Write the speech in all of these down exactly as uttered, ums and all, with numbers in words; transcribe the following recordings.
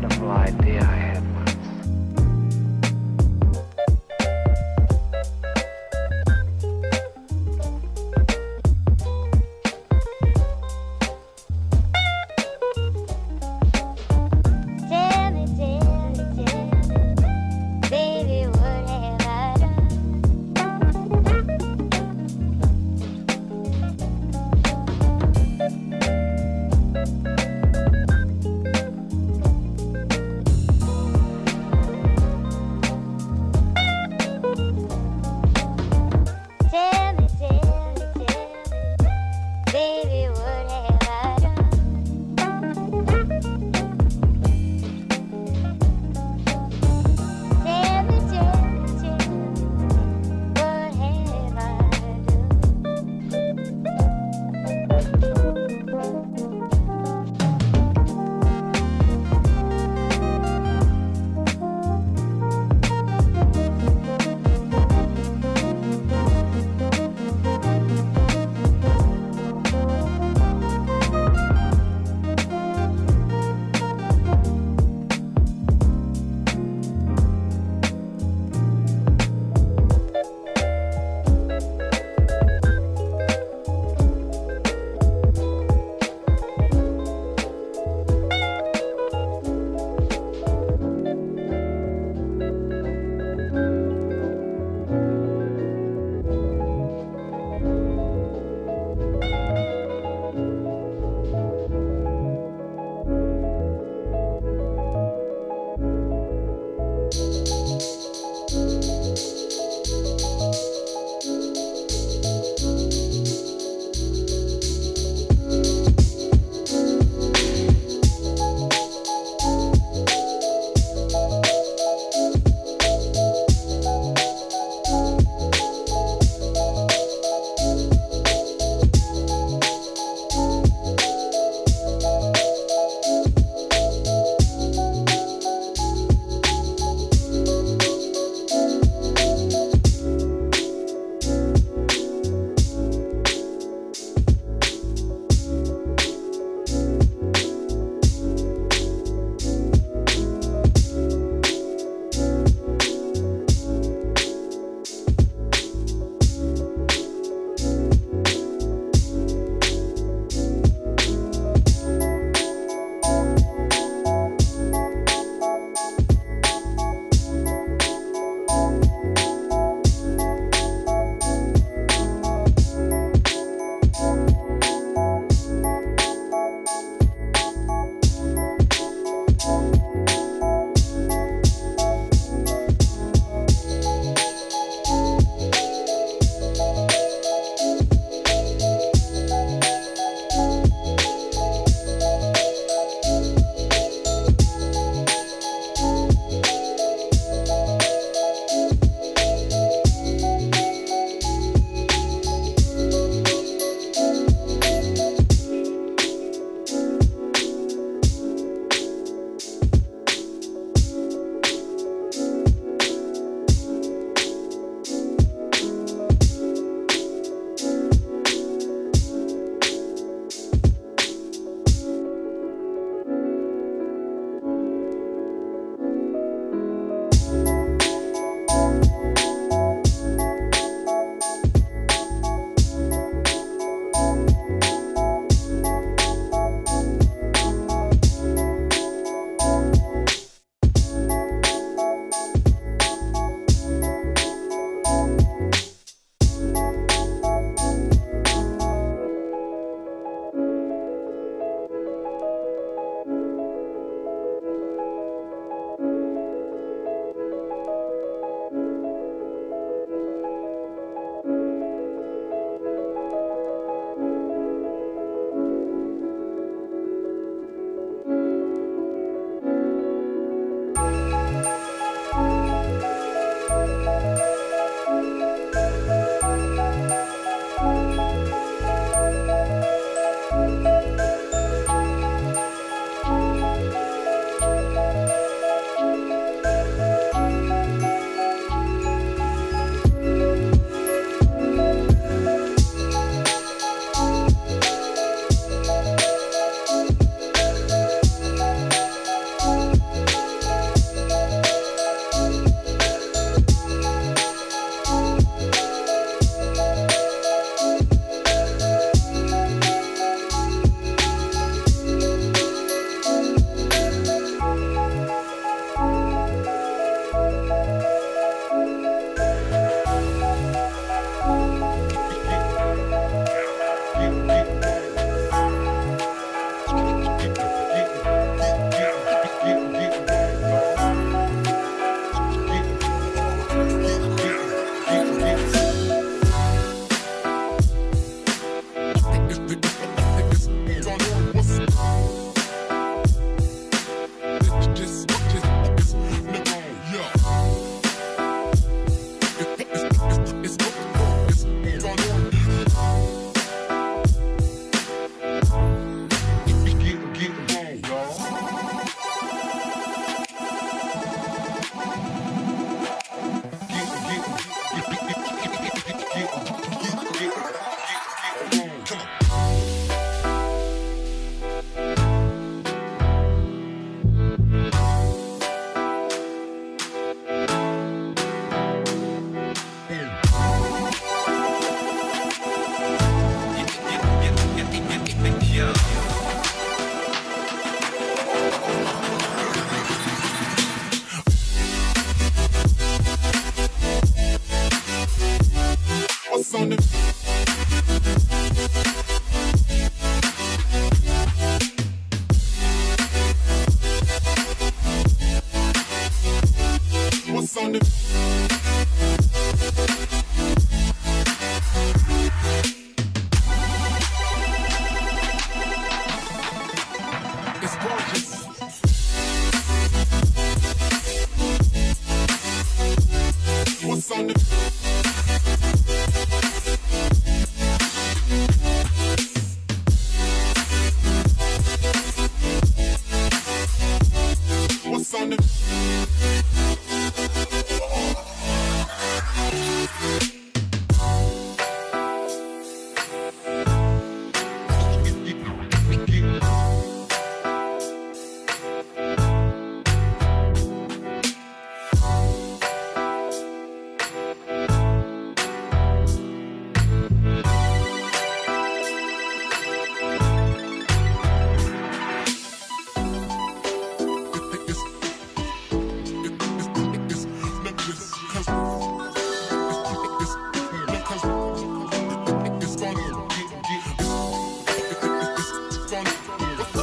simple idea I had once. Tell me, tell me, tell me, baby, what have I done?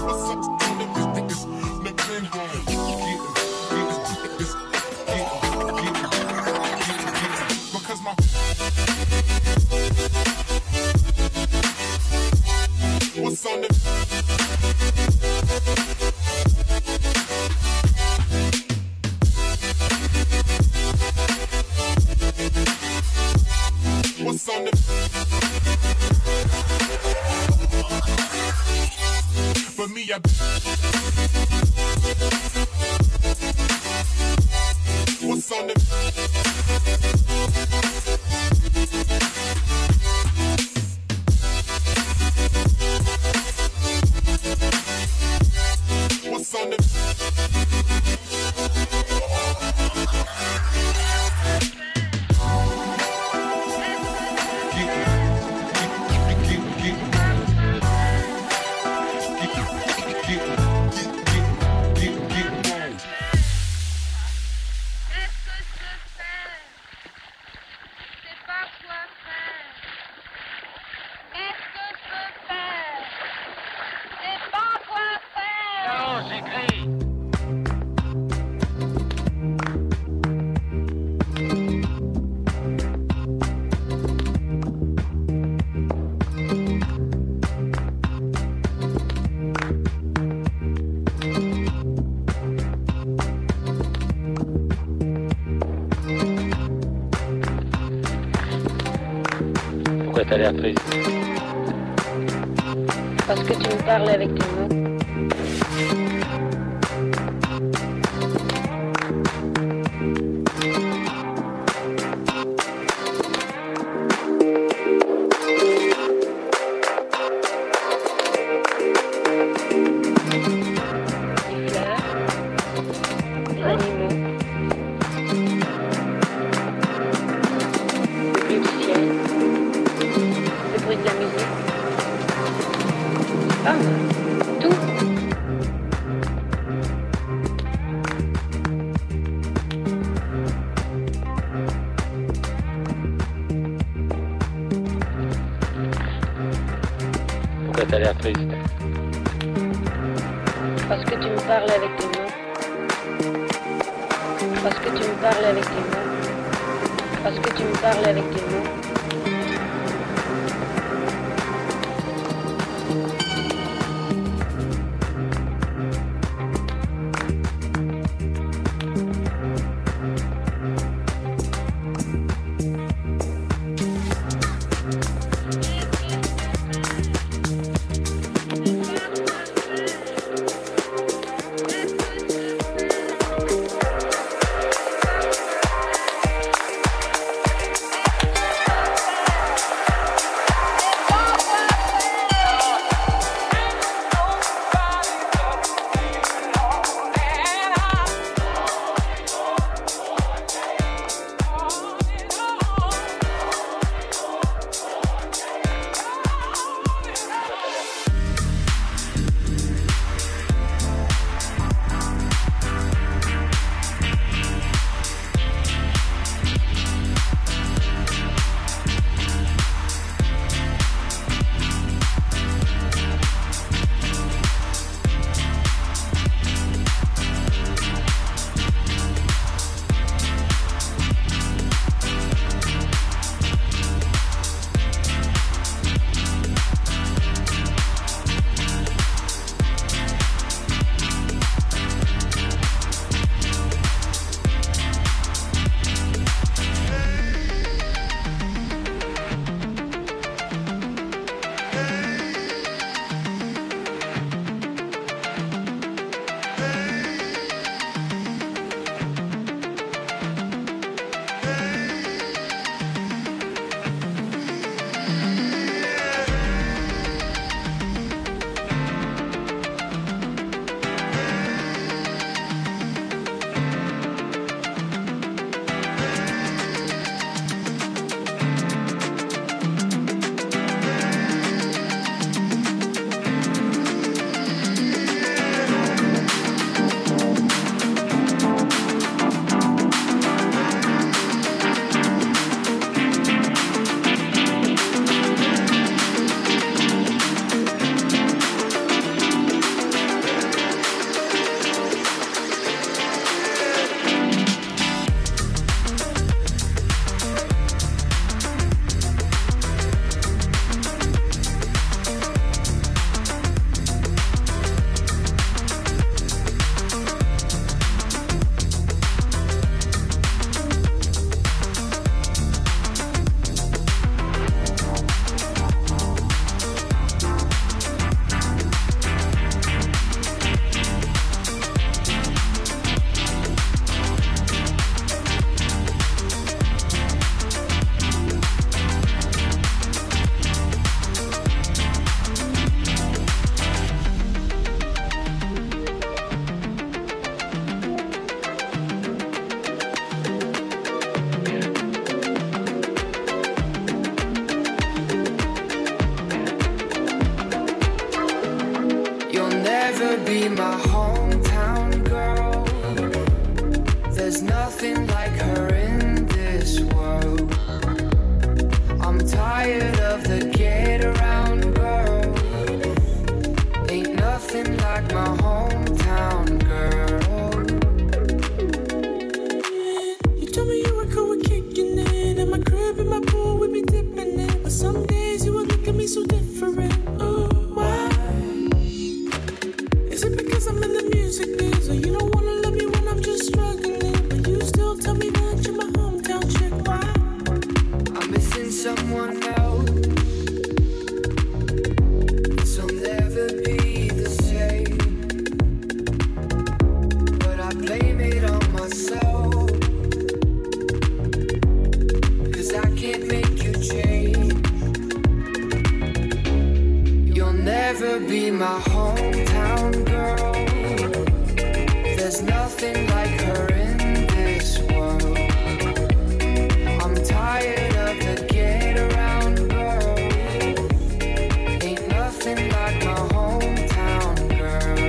Pourquoi t'as l'air triste? Parce que tu me parles avec tes mots. Les fleurs, les animaux, le bleu du ciel, le bruit de la musique. Ah, tout. Pourquoi t'as l'air triste? Parce que tu me parles avec tes mots. Parce que tu me parles avec tes mots. Parce que tu me parles avec tes mots. never be my hometown girl. There's nothing like her in this world. I'm tired of the get around girl. Ain't nothing like my hometown girl. You told me you were cool with kicking it. In my crib, in my pool, we be dipping it. But some days you would look at me so different. Oh, why? Is it because I'm in the music biz? Or you don't wanna love me when I'm just struggling? But you still tell me that you're my hometown chick. Why? I'm missing someone else. This will never be the same. But I blame it on myself. Cause I can't make you change. You'll never be my hometown girl. There's nothing like her in this world. I'm tired of the get around girl. Ain't nothing like my hometown girl.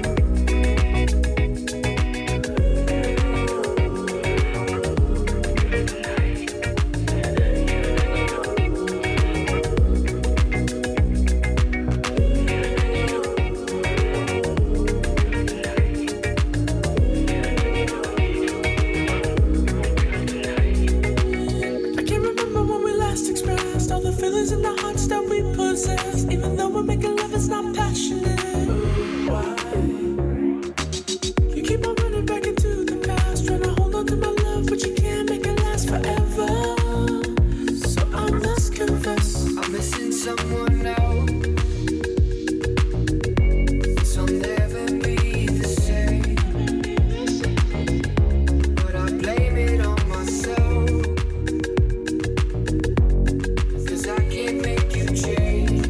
I can't remember when we last expressed all the feelings and the hearts that we possess. Even though we're making love, it's not passionate. Why? You keep on running back into the past, trying to hold on to my love, but you can't make it last forever. So I must confess, I'm missing someone else. This will never be the same. But I blame it on myself. Cause I can't make you change.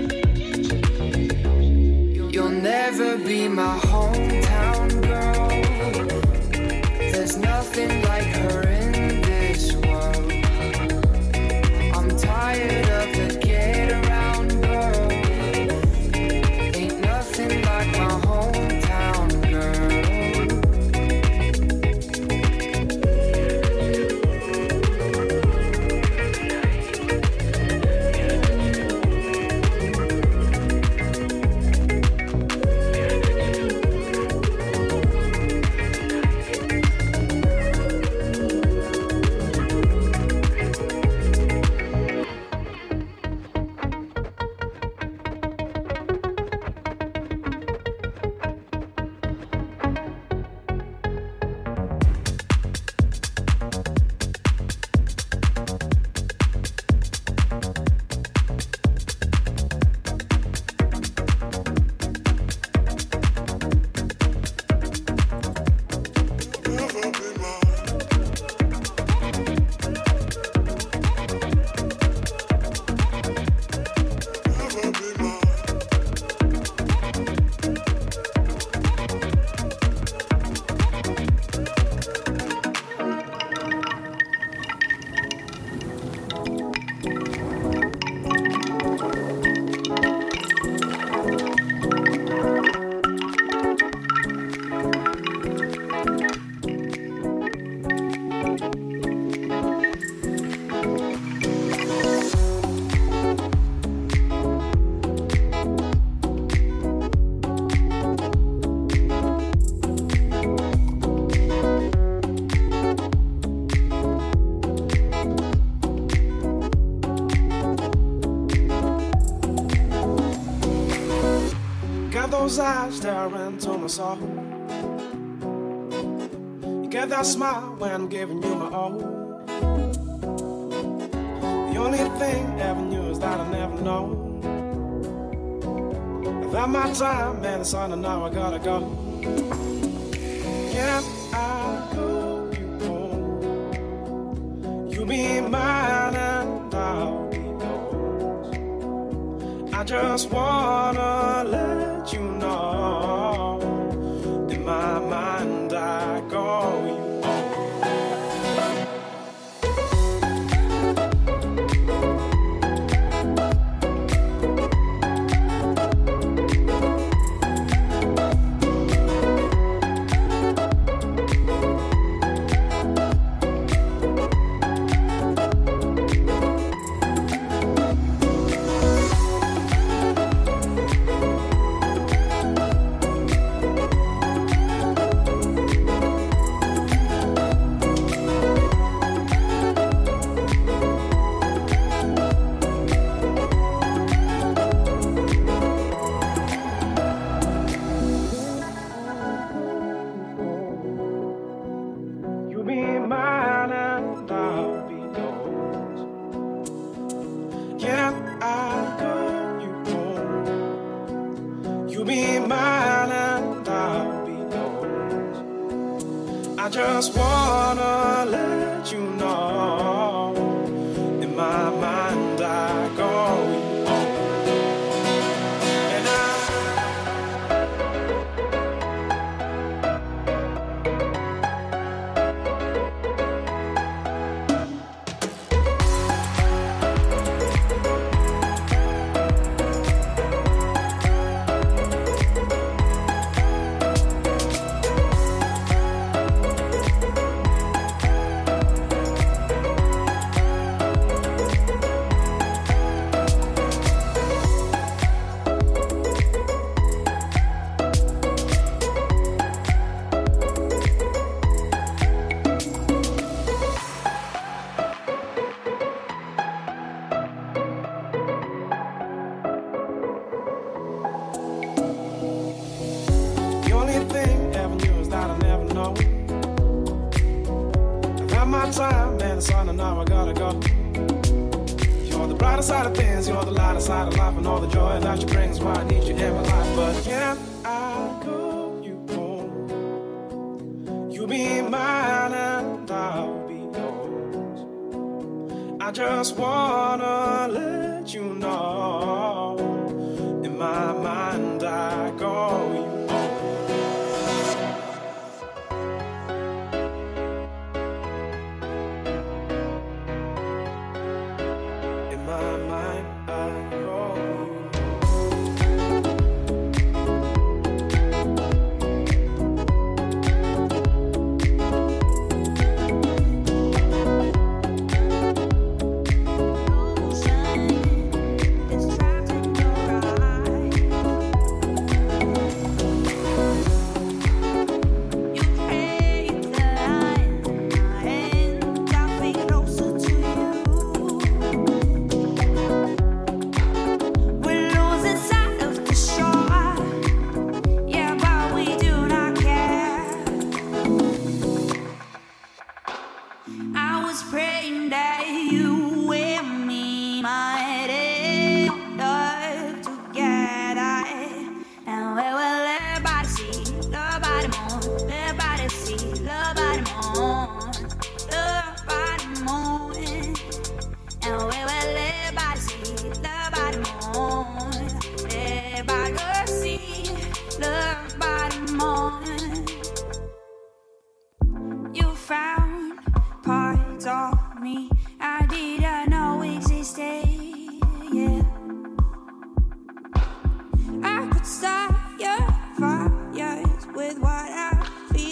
You'll never be my hometown girl. There's nothing like her in this world. I'm tired of the get around girl. Ain't nothing like my hometown girl. got those eyes staring into my soul. You get that smile when I'm giving you my all. The only thing I ever knew is that I never know. I've had my time, man, it's on and now I gotta go. Can I go you home? You be mine and I'll be yours. I just wanna let you know, in my mind I call you home. be mine and I'll be yours. I just wanna let you know, in my mind I call you home. And I time, man, it's on and now I gotta go. You're the brighter side of things, you're the lighter side of life, and all the joy that you bring is why I need you in my life. But can I call you home? You'll be mine and I'll be yours. I just wanna let you know, in my mind I call you home. Start your fires with what I feel.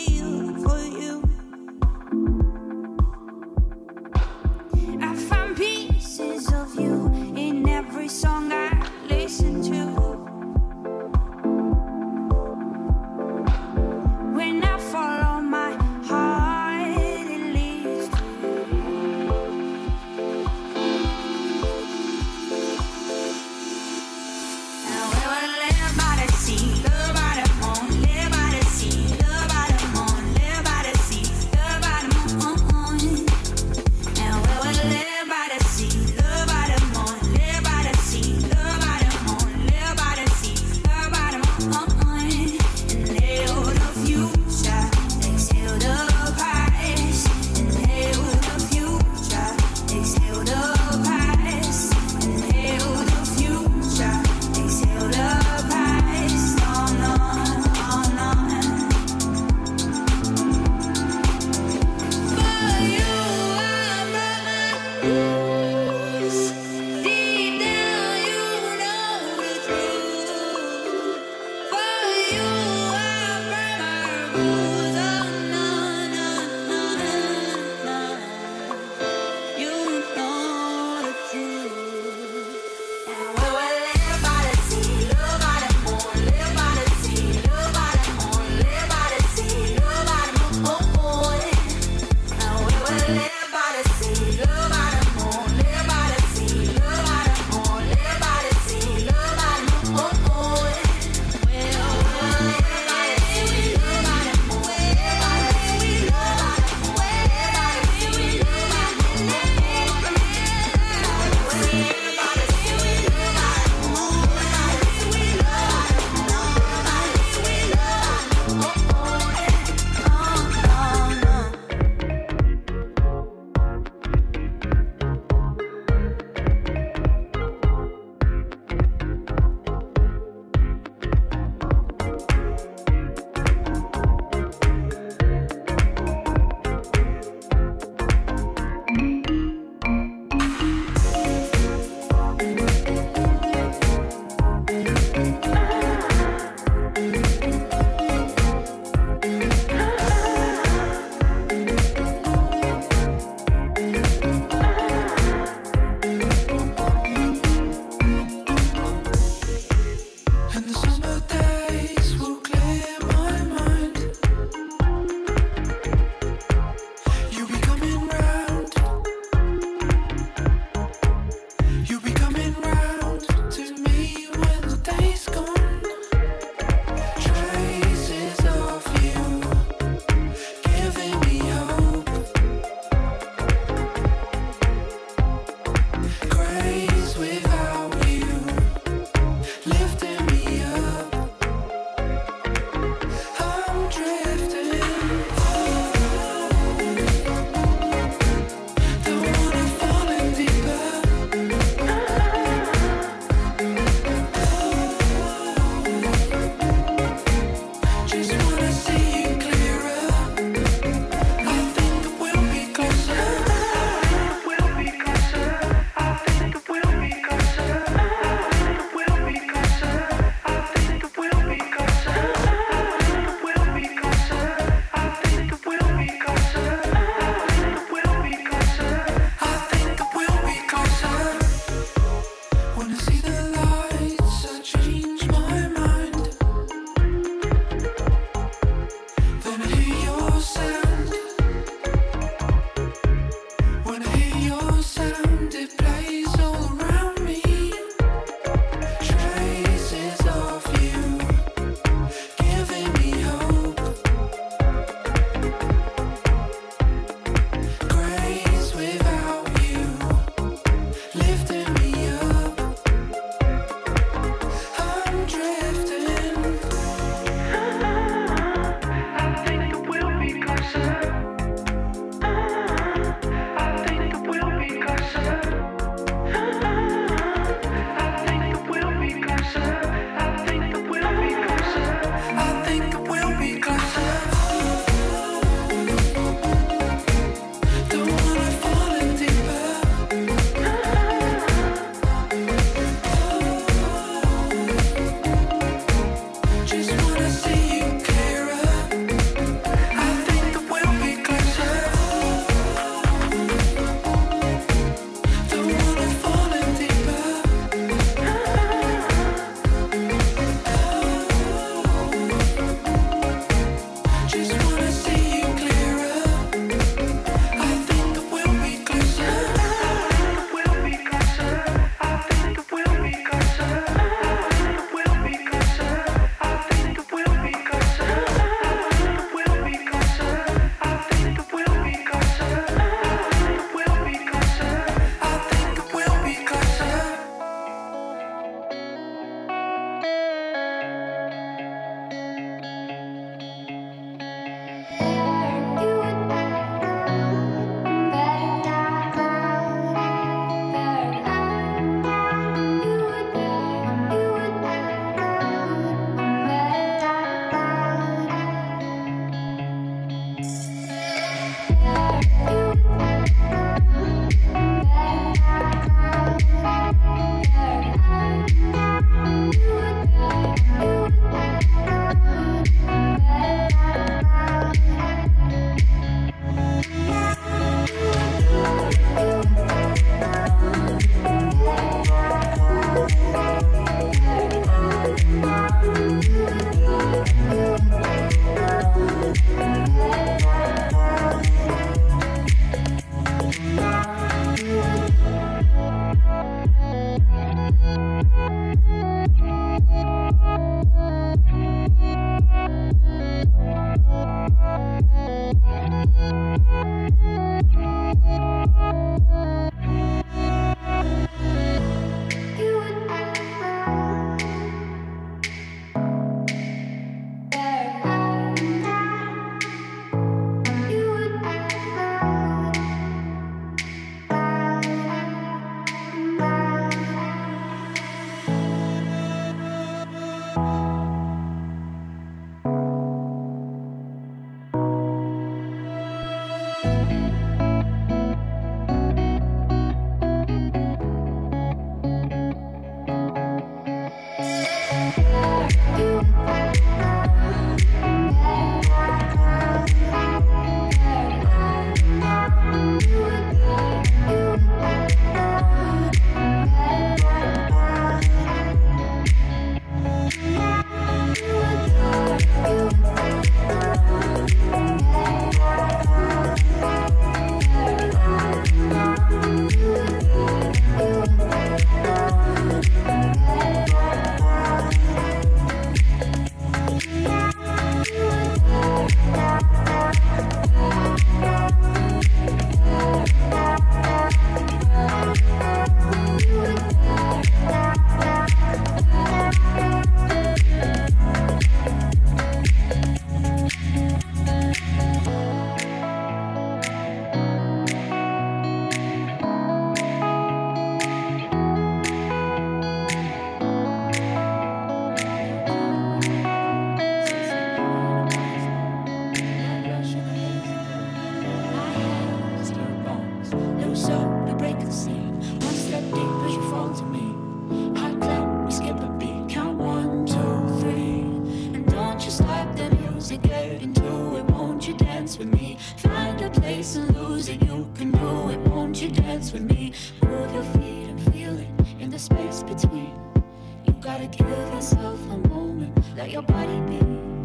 music, get into it. Won't you dance with me? Find a place and lose it. You can do it. Won't you dance with me? Move your feet and feel it in the space between. You gotta give yourself a moment. Let your body be.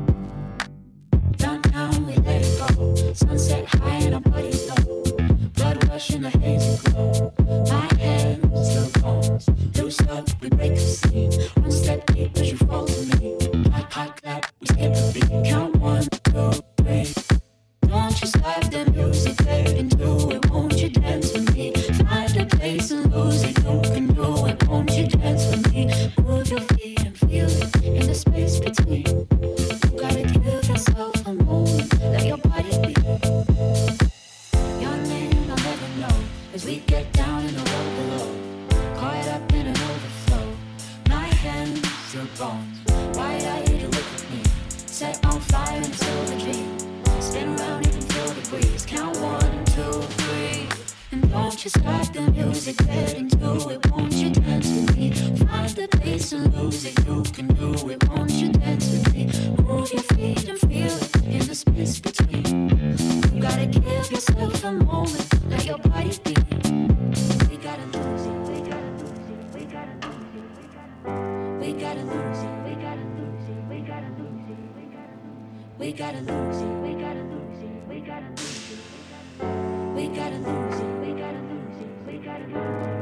Downtown we let it go. Sunset high and our bodies low. Blood rush in the hazy glow. My hands, your bones. Loose up, we break the scene. One step deep as you fall to me. Hot, hot clap, we skip the beat. Count one, two, three. Don't you stop the music, get into it. Won't you dance with me? Find a place and lose it. You can do it. Won't you dance with me? Move your feet and feel it in the space between. You gotta give yourself a moment. Let your body be. Your name I'll never know as we get down in the road below. Caught up in an overflow. My hands, your bones. Wide-eyed, you look at me. Set on fire until the dream. Spin around, you can feel the breeze. Count one, two, three. And don't you stop the music, get into it. Won't you dance with me? Find the place and lose it. You can do it. Won't you dance with me? Move your feet and feel it in the space between. You gotta give yourself a moment. Let your body be. We gotta lose it. We gotta lose it. We gotta lose it. We gotta lose it. We gotta lose it. We gotta lose it. We gotta lose it. We gotta lose it. We gotta lose it. We gotta lose it. We gotta lose it. We gotta lose it.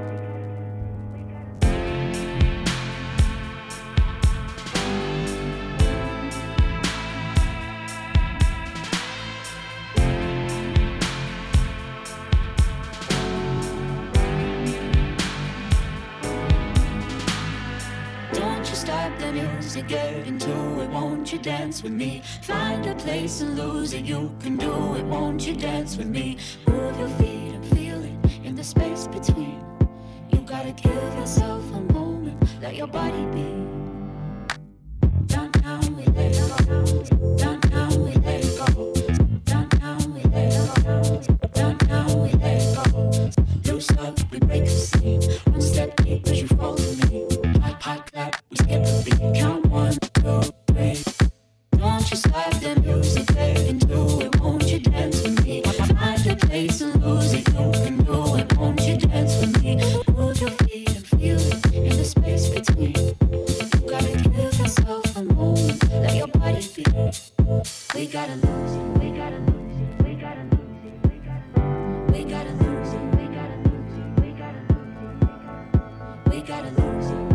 Stop the music, get into it. Won't you dance with me? Find a place and lose it. You can do it. Won't you dance with me? Move your feet and feel it in the space between. You gotta give yourself a moment. Let your body be. Downtown we let it go. Downtown we let it go. Downtown we let it go. Downtown we let it go. Loose up, we break the scene. One step deep as you fall to me. Hot, hot clap. We skip the beat. Count one, two, three. Don't you stop the music, get into it. Won't you dance with me? Find a place and lose it. You can do it. Won't you dance with me? Move your feet and feel it in the space between. You gotta give yourself a moment. Let your body be. We gotta lose it. We gotta lose it. We gotta lose it. We gotta. We gotta lose it. We gotta lose it. We gotta lose it. We gotta lose it.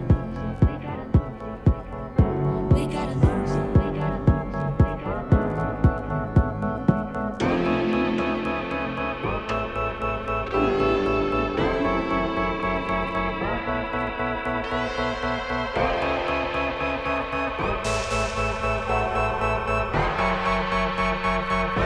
We gotta lose it. We gotta lose it. We gotta lose it. We gotta lose it.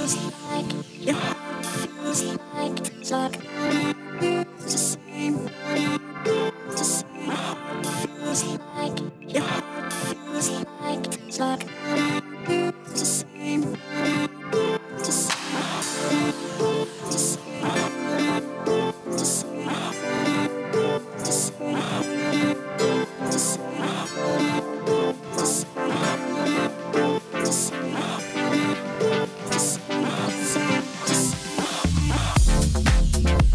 feels like your heart feels like it's like it's the same. It's the same. My heart feels like your heart feels like it's like it's the same. It's the same. My heart, it's the same. My heart, it's the same. My heart, it's the same. My heart, it's the same. My heart, it's the same. My heart, it's the same. My heart, it's the same. My heart, it's the same. My heart, it's the same.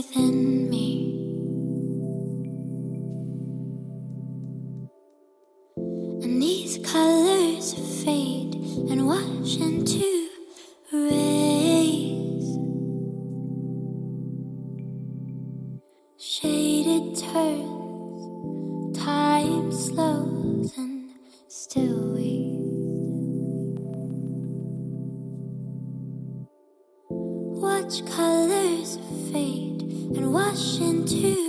within me. And these colors fade and wash into rays. Shaded turns, time slows, and still we watch colors fade and wash into